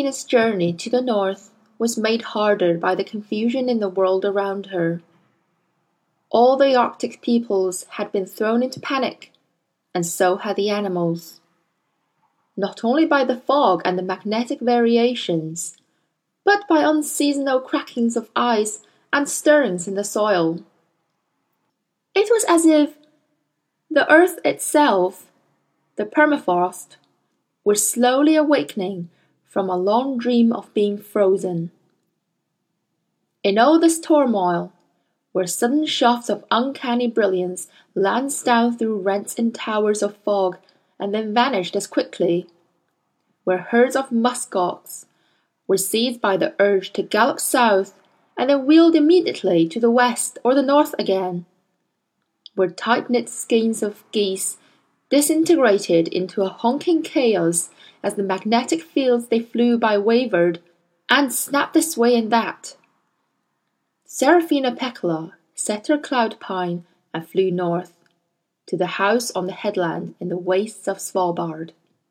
Seraphina's journey to the north was made harder by the confusion in the world around her. All the Arctic peoples had been thrown into panic, and so had the animals. Not only by the fog and the magnetic variations, but by unseasonal crackings of ice and stirrings in the soil. It was as if the earth itself, the permafrost, were slowly awakening from a long dream of being frozen. In all this turmoil, where sudden shafts of uncanny brilliance lanced down through rents in towers of fog and then vanished as quickly, where herds of muskox were seized by the urge to gallop south and then wheeled immediately to the west or the north again, where tight-knit skeins of geese disintegrated into a honking chaos as the magnetic fields they flew by wavered and snapped this way and that. Seraphina Pekkala set her cloud pine and flew north, to the house on the headland in the wastes of Svalbard.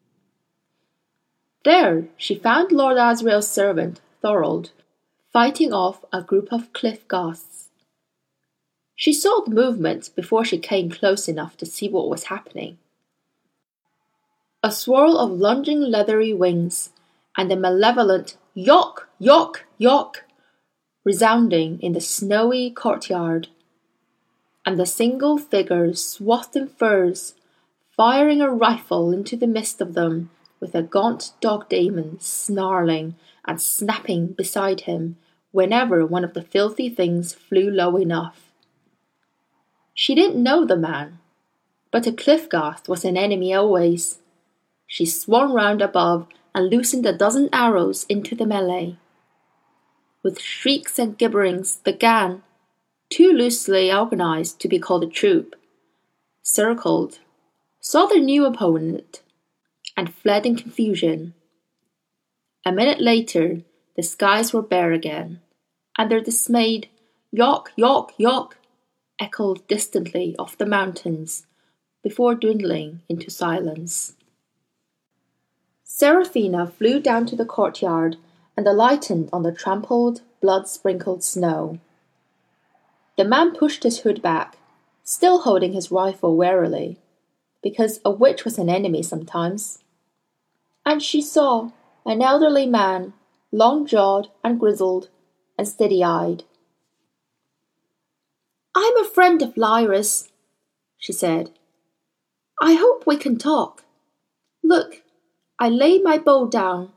There she found Lord Asriel's servant, Thorold, fighting off a group of cliff ghasts. She saw the movement before she came close enough to see what was happening. A swirl of lunging leathery wings, and a malevolent "Yok! Yok! Yok!" resounding in the snowy courtyard, and a single figure swathed in furs, firing a rifle into the midst of them, with a gaunt dog Damon snarling and snapping beside him whenever one of the filthy things flew low enough. She didn't know the man, but a cliff-ghast was an enemy always. She swung round above and loosened a dozen arrows into the melee. With shrieks and gibberings, the gang, too loosely organized to be called a troop, circled, saw their new opponent, and fled in confusion. A minute later, the skies were bare again, and their dismayed "Yok! Yok! Yok!" echoed distantly off the mountains before dwindling into silence. Seraphina flew down to the courtyard and alighted on the trampled, blood-sprinkled snow. The man pushed his hood back, still holding his rifle warily, because a witch was an enemy sometimes. And she saw an elderly man, long-jawed and grizzled, and steady-eyed. "I'm a friend of Lyra's," she said. "I hope we can talk. Look, I lay my bow down."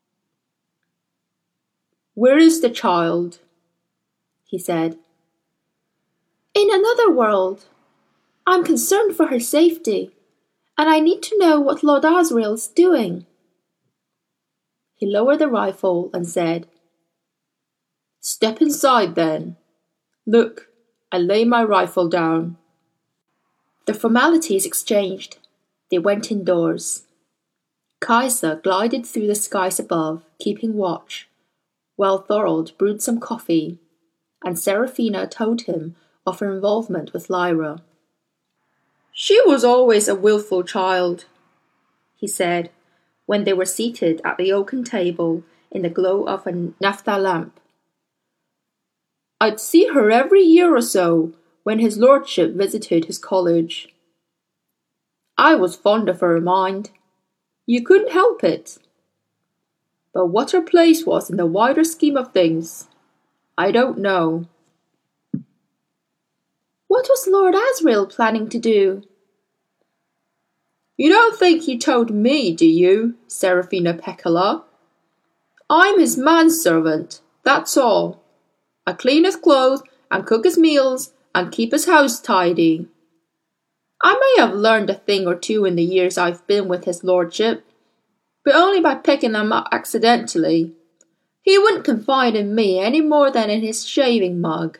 "Where is the child?" he said. "In another world. I'm concerned for her safety, and I need to know what Lord Asriel's doing." He lowered the rifle and said, "Step inside, then. Look, I lay my rifle down." The formalities exchanged, they went indoors. Kaisa glided through the skies above, keeping watch, while Thorold brewed some coffee, and Seraphina told him of her involvement with Lyra. "She was always a wilful child," he said, when they were seated at the oaken table in the glow of a naphtha lamp. "I'd see her every year or so when his lordship visited his college. I was fond of her mind. You couldn't help it. But what her place was in the wider scheme of things, I don't know." "What was Lord Asriel planning to do?" "You don't think he told me, do you, Seraphina Pekkala? I'm his manservant, that's all. I clean his clothes and cook his meals and keep his house tidy. I may have learned a thing or two in the years I've been with his lordship, but only by picking them up accidentally. He wouldn't confide in me any more than in his shaving mug."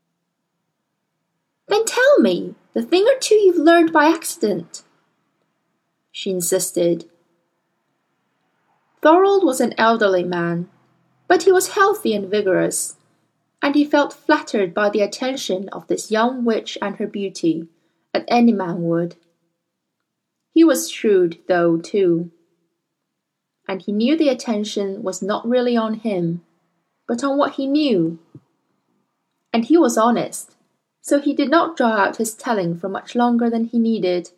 "Then tell me the thing or two you've learned by accident," she insisted. Thorold was an elderly man, but he was healthy and vigorous, and he felt flattered by the attention of this young witch and her beauty, as any man would. He was shrewd, though, too. and he knew the attention was not really on him, but on what he knew. And he was honest, so he did not draw out his telling for much longer than he needed.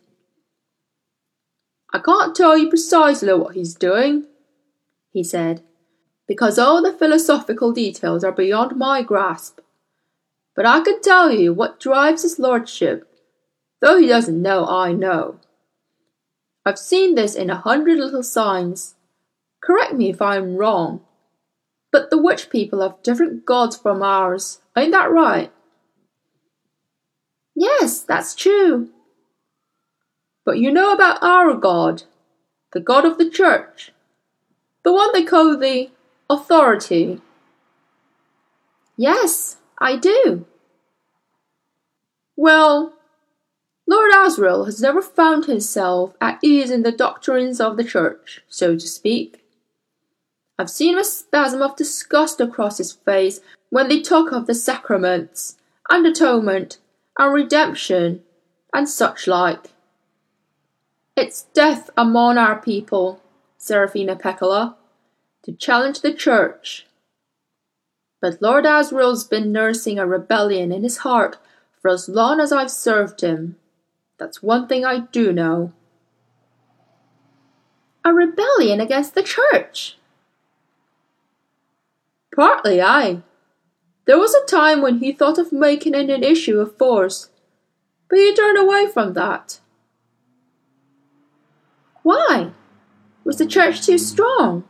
"I can't tell you precisely what he's doing," he said, "because all the philosophical details are beyond my grasp. But I can tell you what drives his lordship, though he doesn't know I know. I've seen this in 100 little signs. Correct me if I'm wrong, but the witch people have different gods from ours. Ain't that right?" "Yes, that's true." "But you know about our God, the God of the Church, the one they call the Authority?" "Yes, I do." "Well, Lord Asriel has never found himself at ease in the doctrines of the Church, so to speak. I've seen a spasm of disgust across his face when they talk of the sacraments, and atonement, and redemption, and such like. It's death among our people, Serafina Pekkala, to challenge the Church. But Lord Asriel's been nursing a rebellion in his heart for as long as I've served him. That's one thing I do know." "A rebellion against the Church?" "Partly, aye. There was a time when he thought of making it an issue of force, but he turned away from that." "Why? Was the Church too strong?"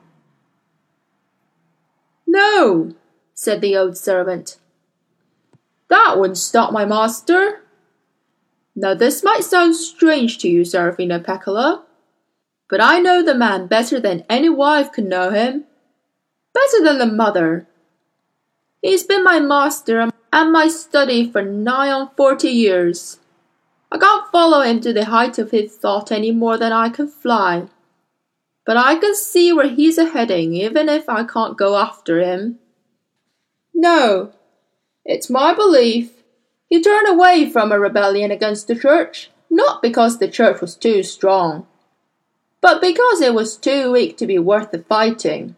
"No," said the old servant. "That wouldn't stop my master. Now this might sound strange to you, Serafina Pekkala, but I know the man better than any wife could know him, better than the mother. He's been my master and my study for nigh on 40 years. I can't follow him to the height of his thought any more than I can fly, but I can see where he's a-heading even if I can't go after him. No, it's my belief he turned away from a rebellion against the Church, not because the Church was too strong, but because it was too weak to be worth the fighting."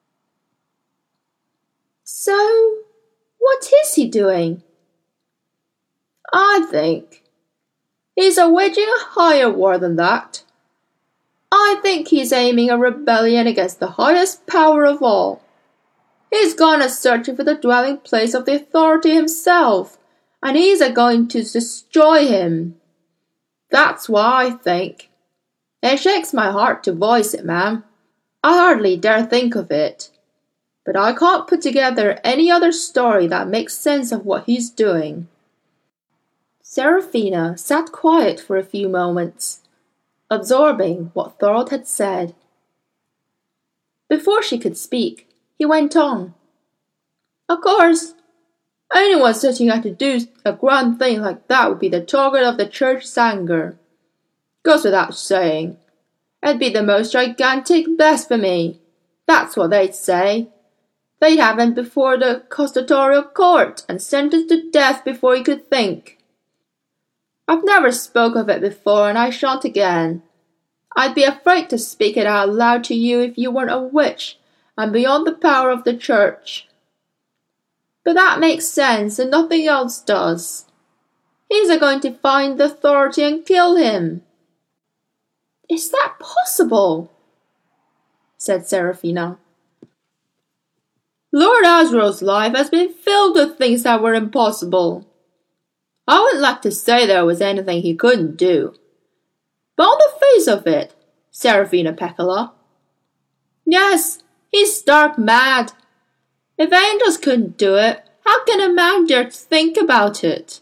"So, what is he doing?" "I think he's waging a higher war than that. I think he's aiming a rebellion against the highest power of all. He's gone a-searching for the dwelling place of the Authority himself, and he's a-going to destroy him. That's what I think. It shakes my heart to voice it, ma'am. I hardly dare think of it. But I can't put together any other story that makes sense of what he's doing." Serafina sat quiet for a few moments, absorbing what Thorold had said. Before she could speak, he went on. "Of course, anyone setting out to do a grand thing like that would be the target of the Church's anger. Goes without saying. It'd be the most gigantic blasphemy. That's what they'd say. They'd have him before the constitutorial court and sentenced to death before he could think. I've never spoke of it before, and I shan't again. I'd be afraid to speak it out loud to you if you weren't a witch and beyond the power of the Church. But that makes sense, and nothing else does. He's a-going to find the Authority and kill him." "Is that possible?" said Serafina. "Lord Asriel's life has been filled with things that were impossible. I wouldn't like to say there was anything he couldn't do. But on the face of it, Serafina Pekkala, yes, he's stark mad. If angels couldn't do it, how can a man dare to think about it?"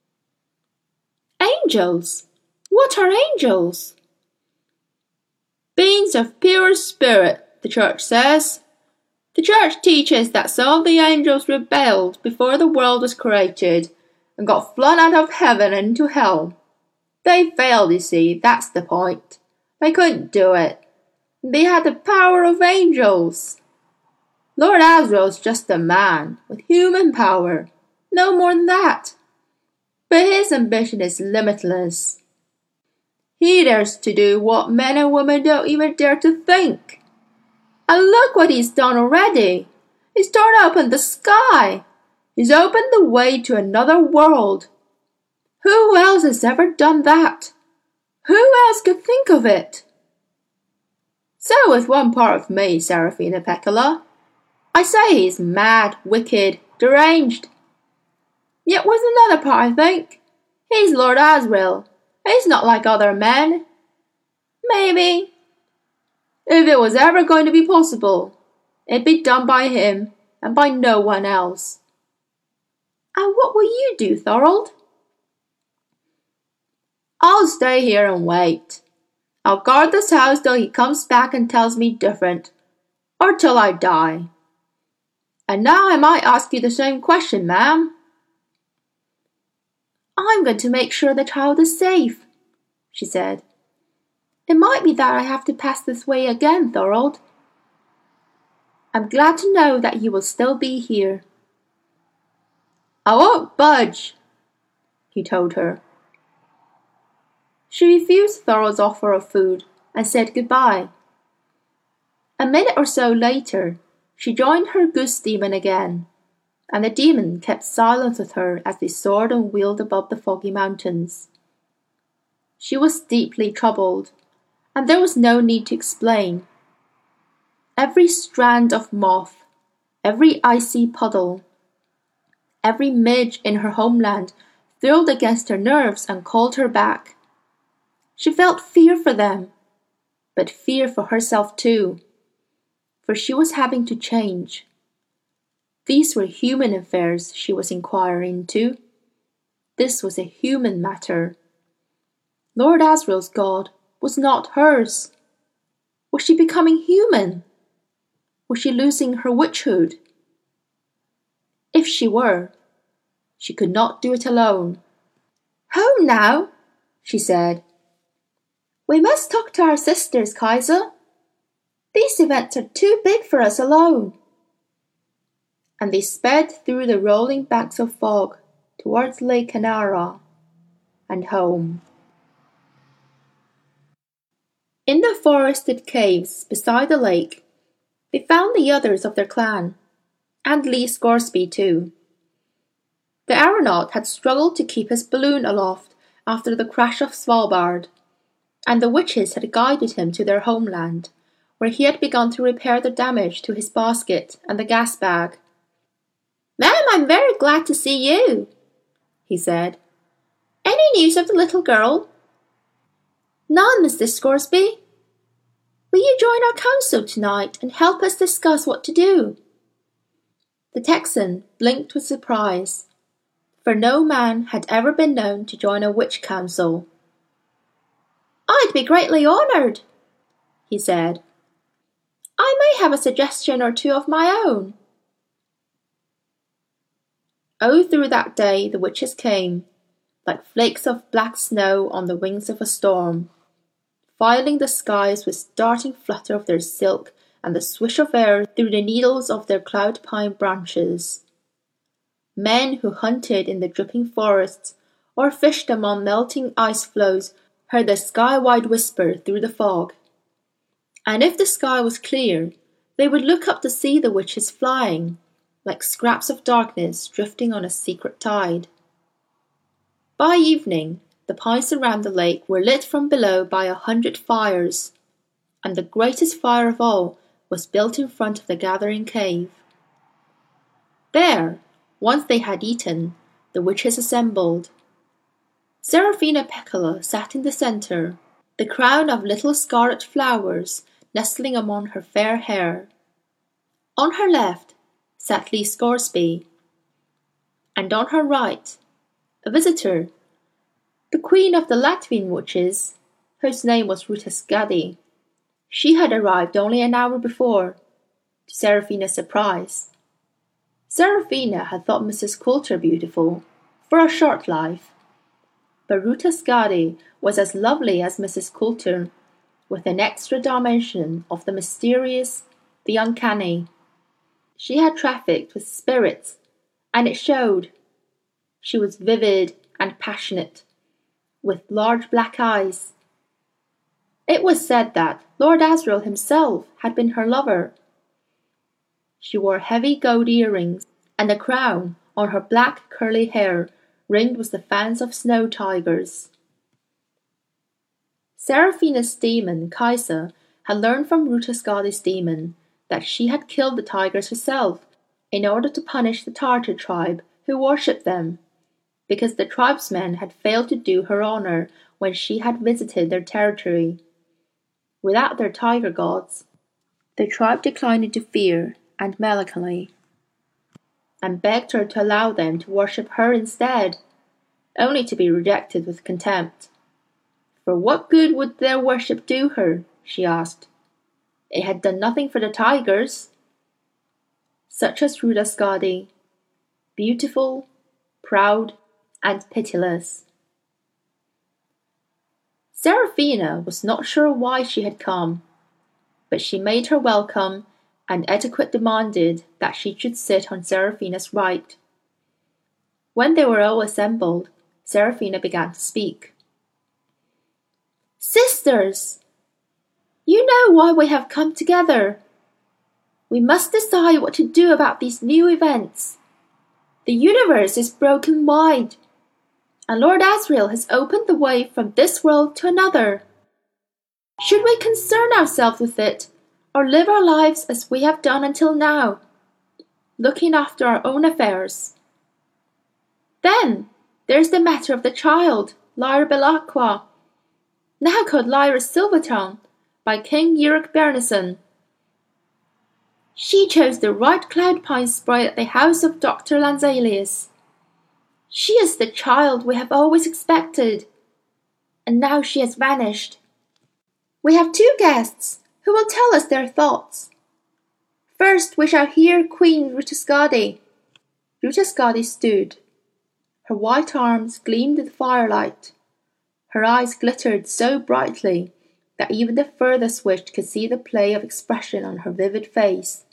"Angels? What are angels?" "Beings of pure spirit, the Church says. The Church teaches that some of the angels rebelled before the world was created and got flung out of heaven and into hell. They failed, you see, that's the point. They couldn't do it. They had the power of angels. Lord Asriel's just a man with human power, no more than that. But his ambition is limitless. He dares to do what men and women don't even dare to think. And look what he's done already. He's torn open the sky. He's opened the way to another world. Who else has ever done that? Who else could think of it? So with one part of me, Serafina Pekkala. I say he's mad, wicked, deranged. Yet with another part I think, he's Lord Asriel. He's not like other men. Maybe, if it was ever going to be possible, it'd be done by him and by no one else. And what will you do, Thorold? I'll stay here and wait. I'll guard this house till he comes back and tells me different, or till I die. And now I might ask you the same question, ma'am. I'm going to make sure the child is safe, she said. It might be that I have to pass this way again, Thorold. I'm glad to know that you will still be here. I won't budge, he told her. She refused Thorold's offer of food and said goodbye. A minute or so later, she joined her goose demon again, and the demon kept silence with her as they soared and wheeled above the foggy mountains. She was deeply troubled, and there was no need to explain. Every strand of moth, every icy puddle, every midge in her homeland thrilled against her nerves and called her back. She felt fear for them, but fear for herself too, for she was having to change. These were human affairs she was inquiring into. This was a human matter. Lord Asriel's God was not hers. Was she becoming human? Was she losing her witchhood? If she were, she could not do it alone. Home now, she said. We must talk to our sisters, Kaiser. These events are too big for us alone. And they sped through the rolling banks of fog towards Lake Canara and home. In the forested caves beside the lake, they found the others of their clan, and Lee Scoresby too. The aeronaut had struggled to keep his balloon aloft after the crash of Svalbard, and the witches had guided him to their homeland, where he had begun to repair the damage to his basket and the gas bag. Ma'am, I'm very glad to see you, he said. Any news of the little girl? None, Mr. Scoresby. Will you join our council tonight and help us discuss what to do? The Texan blinked with surprise, for no man had ever been known to join a witch council. I'd be greatly honoured, he said. I may have a suggestion or two of my own. Oh, through that day the witches came, like flakes of black snow on the wings of a storm, filing the skies with starting flutter of their silk and the swish of air through the needles of their cloud pine branches. Men who hunted in the dripping forests or fished among melting ice floes heard the sky-wide whisper through the fog. And if the sky was clear, they would look up to see the witches flying, like scraps of darkness drifting on a secret tide. By evening, the pines around the lake were lit from below by 100 fires, and the greatest fire of all was built in front of the gathering cave. There, once they had eaten, the witches assembled. Serafina Pekkala sat in the centre, the crown of little scarlet flowers nestling among her fair hair. On her left sat Lee Scoresby, and on her right, a visitor, the queen of the Latvian witches, whose name was Ruta Skadi. She had arrived only an hour before, to Serafina's surprise. Serafina had thought Mrs. Coulter beautiful, for a short life, but Ruta Skadi was as lovely as Mrs. Coulter, with an extra dimension of the mysterious, the uncanny. She had trafficked with spirits, and it showed. She was vivid and passionate, with large black eyes. It was said that Lord Asriel himself had been her lover. She wore heavy gold earrings, and a crown on her black curly hair ringed with the fans of snow tigers. Seraphina's demon, Kaisa, had learned from Ruta Skadi's demon that she had killed the tigers herself in order to punish the Tartar tribe who worshipped them, because the tribesmen had failed to do her honor when she had visited their territory. Without their tiger gods, the tribe declined into fear and melancholy, and begged her to allow them to worship her instead, only to be rejected with contempt. For what good would their worship do her? She asked. It had done nothing for the tigers. Such as Ruta Skadi, beautiful, proud, and pitiless. Seraphina was not sure why she had come, but she made her welcome, and etiquette demanded that she should sit on Seraphina's right. When they were all assembled, Seraphina began to speak. Sisters, you know why we have come together. We must decide what to do about these new events. The universe is broken wide, and Lord Asriel has opened the way from this world to another. Should we concern ourselves with it, or live our lives as we have done until now, looking after our own affairs? Then there's the matter of the child, Lyra Belacqua, now called Lyra Silvertongue, by King Uric Bernison. She chose the right cloud pine spray at the house of Dr. Lansalius. She is the child we have always expected, and now she has vanished. We have two guests who will tell us their thoughts. First we shall hear Queen Ruta Skadi. Ruta Skadi stood. Her white arms gleamed in the firelight. Her eyes glittered so brightly that even the furthest witch could see the play of expression on her vivid face.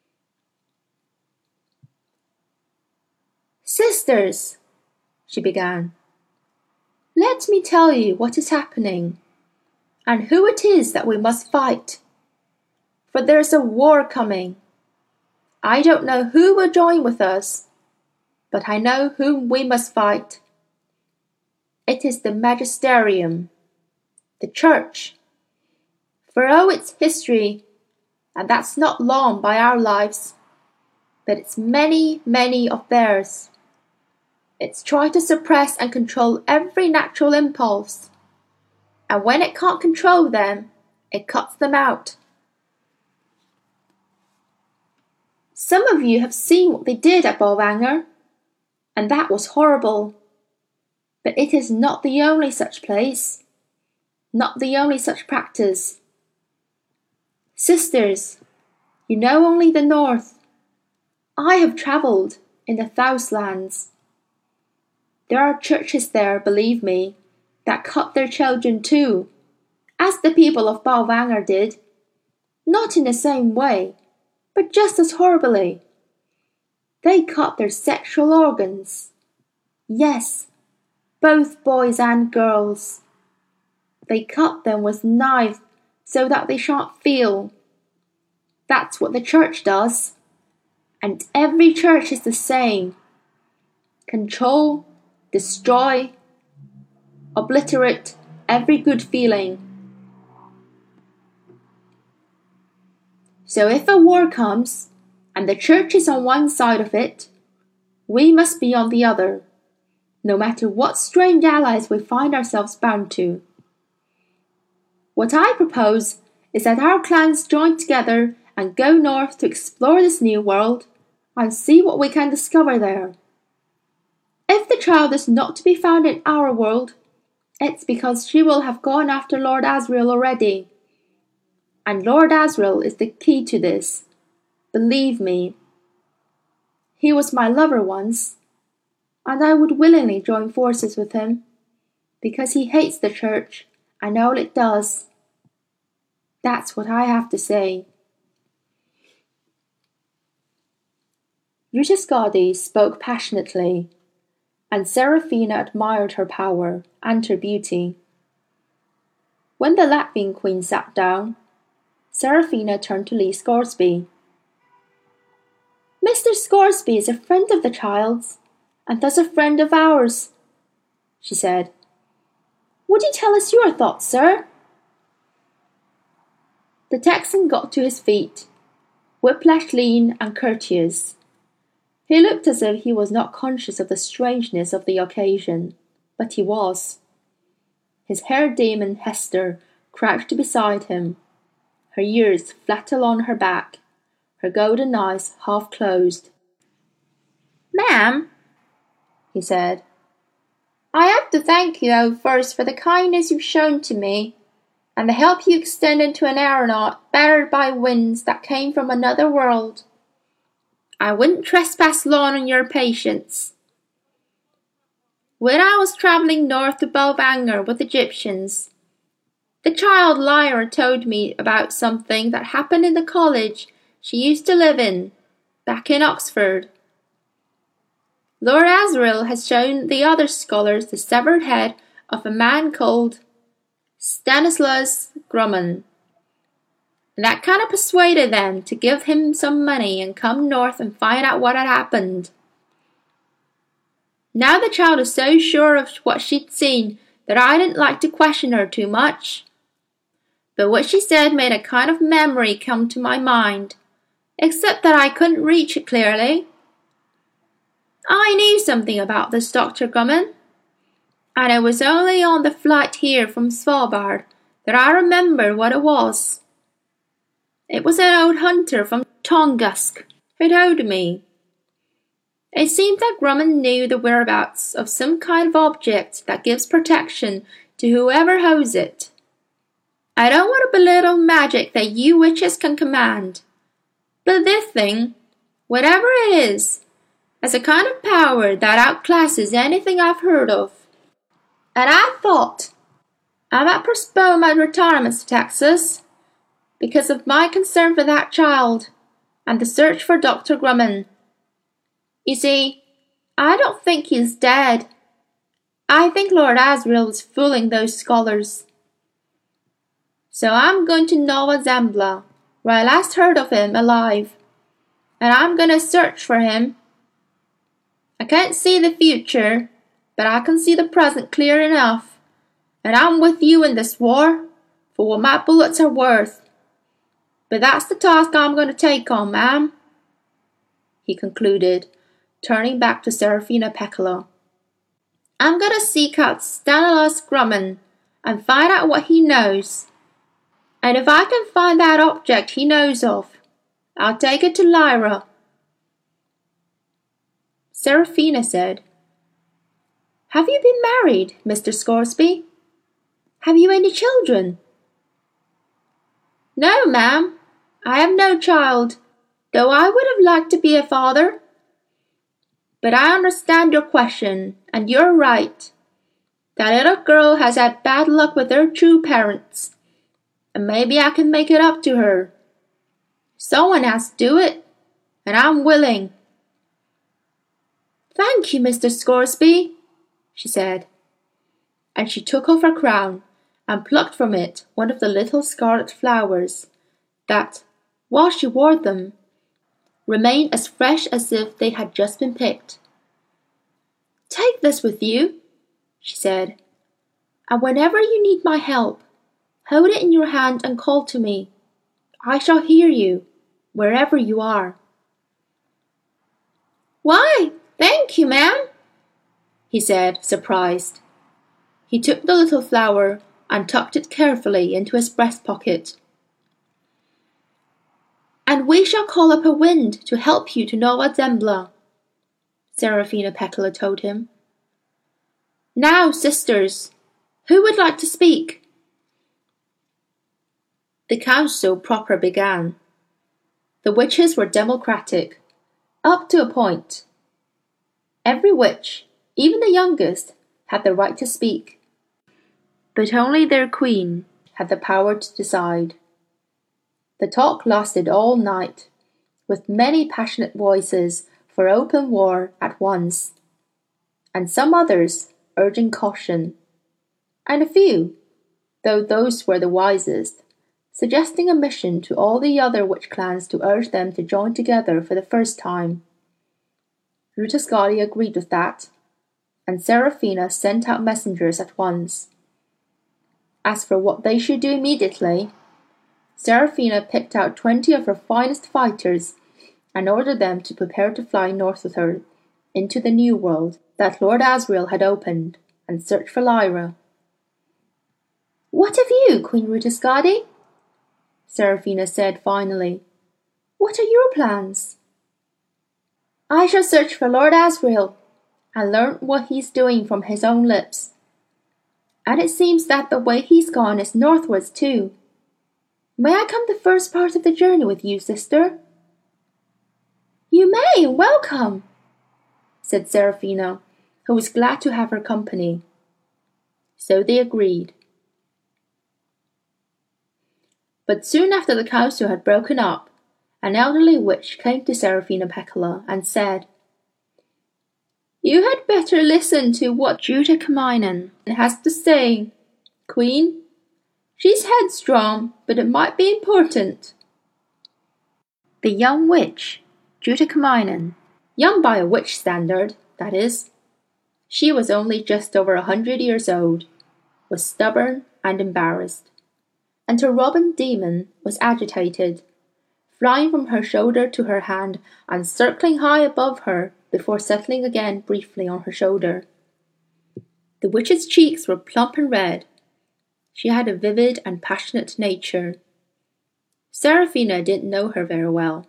Sisters, she began, let me tell you what is happening, and who it is that we must fight. For there is a war coming. I don't know who will join with us, but I know whom we must fight. It is the magisterium, the church. For oh, its history, and that's not long by our lives, but it's many, many of theirs. It's tried to suppress and control every natural impulse, and when it can't control them, it cuts them out. Some of you have seen what they did at Bolvangar, and that was horrible. But it is not the only such place, not the only such practice. Sisters, you know only the north. I have travelled in the Southlands. There are churches there, believe me, that cut their children too, as the people of Bolvangar did. Not in the same way, but just as horribly. They cut their sexual organs. Yes, both boys and girls. They cut them with knives so that they shan't feel. That's what the church does. And every church is the same. Control, destroy, obliterate every good feeling. So if a war comes, and the church is on one side of it, we must be on the other, no matter what strange allies we find ourselves bound to. What I propose is that our clans join together and go north to explore this new world and see what we can discover there. If the child is not to be found in our world, it's because she will have gone after Lord Asriel already. And Lord Asriel is the key to this. Believe me. He was my lover once, and I would willingly join forces with him, because he hates the church and all it does. That's what I have to say. Ruta Skadi spoke passionately, and Seraphina admired her power and her beauty. When the Latvian queen sat down, Seraphina turned to Lee Scoresby. "Mr. Scoresby is a friend of the child's, and thus a friend of ours," she said. "Would you tell us your thoughts, sir?" The Texan got to his feet, whiplash lean and courteous. He looked as if he was not conscious of the strangeness of the occasion, but he was. His hair demon Hester crouched beside him, her ears flat along her back, her golden eyes half closed. "Ma'am," he said, "I have to thank you first for the kindness you've shown to me, and the help you extended to an aeronaut battered by winds that came from another world. I wouldn't trespass long on your patience. When I was travelling north to Balvanger with Egyptians, the child Lyra told me about something that happened in the college she used to live in, back in Oxford. Lord Asriel has shown the other scholars the severed head of a man called Stanislaus Grumman, and that kind of persuaded them to give him some money and come north and find out what had happened. Now the child is so sure of what she'd seen that I didn't like to question her too much. But what she said made a kind of memory come to my mind, except that I couldn't reach it clearly. I knew something about this Dr. Grumman, and it was only on the flight here from Svalbard that I remembered what it was. It was an old hunter from Tungusk who told me. It seemed that Grumman knew the whereabouts of some kind of object that gives protection to whoever holds it. I don't want to belittle magic that you witches can command, but this thing, whatever it is, has a kind of power that outclasses anything I've heard of. And I thought I might postpone my retirement to Texas because of my concern for that child and the search for Dr. Grumman. You see, I don't think he's dead. I think Lord Asriel is fooling those scholars. So I'm going to Nova Zembla, where I last heard of him alive, and I'm going to search for him. I can't see the future, but I can see the present clear enough, and I'm with you in this war, for what my bullets are worth. But that's the task I'm going to take on, ma'am," he concluded, turning back to Seraphina Pekkala. "I'm going to seek out Stanislaus Grumman and find out what he knows. And if I can find that object he knows of, I'll take it to Lyra." Seraphina said, "Have you been married, Mr. Scoresby? Have you any children?" "No, ma'am, I have no child, though I would have liked to be a father. But I understand your question, and you're right. That little girl has had bad luck with her true parents, and maybe I can make it up to her. Someone has to do it, and I'm willing." "Thank you, Mr. Scoresby," she said, and she took off her crown and plucked from it one of the little scarlet flowers that, while she wore them, remained as fresh as if they had just been picked. "Take this with you," she said, "and whenever you need my help, hold it in your hand and call to me. I shall hear you, wherever you are." "Why, thank you, ma'am," he said, surprised. He took the little flower and tucked it carefully into his breast pocket. "And we shall call up a wind to help you to Nova Zembla," Seraphina Pekkala told him. "Now, sisters, who would like to speak?" The council proper began. The witches were democratic, up to a point. Every witch, even the youngest, had the right to speak. But only their queen had the power to decide. The talk lasted all night, with many passionate voices for open war at once, and some others urging caution, and a few though those were the wisest, suggesting a mission to all the other witch clans to urge them to join together for the first time. Ruta Skadi agreed with that, and Seraphina sent out messengers at once. As for what they should do immediately, Seraphina picked out 20 of her finest fighters and ordered them to prepare to fly north with her into the new world that Lord Asriel had opened and search for Lyra. "What of you, Queen Ruta Skadi?" Seraphina said finally. "What are your plans?" "I shall search for Lord Asriel and learn what he's doing from his own lips. And it seems that the way he's gone is northwards too. May I come the first part of the journey with you, sister?" "You may, and welcome," said Seraphina, who was glad to have her company. So they agreed. But soon after the council had broken up, an elderly witch came to Seraphina Pekkala and said, "You had better listen to what Juta has to say, Queen. She's headstrong, but it might be important." The young witch, Juta young by a witch standard, that is, she was only just over 100 years old, was stubborn and embarrassed, and her robin demon was agitated, flying from her shoulder to her hand and circling high above her before settling again briefly on her shoulder. The witch's cheeks were plump and red. She had a vivid and passionate nature. Seraphina didn't know her very well.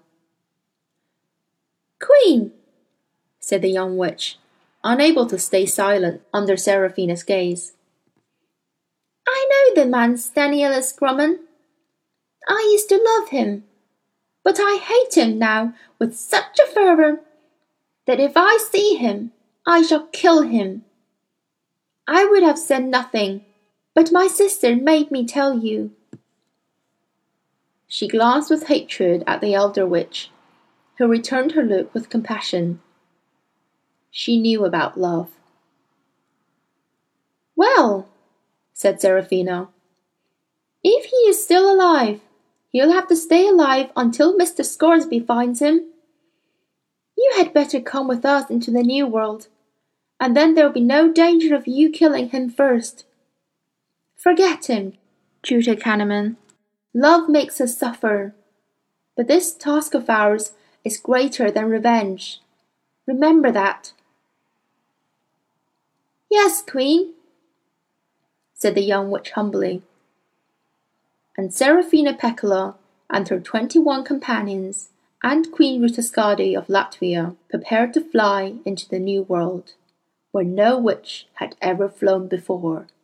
"Queen," said the young witch, unable to stay silent under Seraphina's gaze. "I know the man Stanielis Grumman. I used to love him, but I hate him now with such a fervour that if I see him, I shall kill him. I would have said nothing, but my sister made me tell you." She glanced with hatred at the elder witch, who returned her look with compassion. She knew about love. "Well," said Seraphina, "if he is still alive, he'll have to stay alive until Mr. Scoresby finds him. You had better come with us into the new world, and then there'll be no danger of you killing him first. Forget him, Juta Canterman. Love makes us suffer, but this task of ours is greater than revenge. Remember that." "Yes, Queen," said the young witch humbly. And Seraphina Pekkala and her 21 companions and Queen Ruta Skadi of Latvia prepared to fly into the new world, where no witch had ever flown before.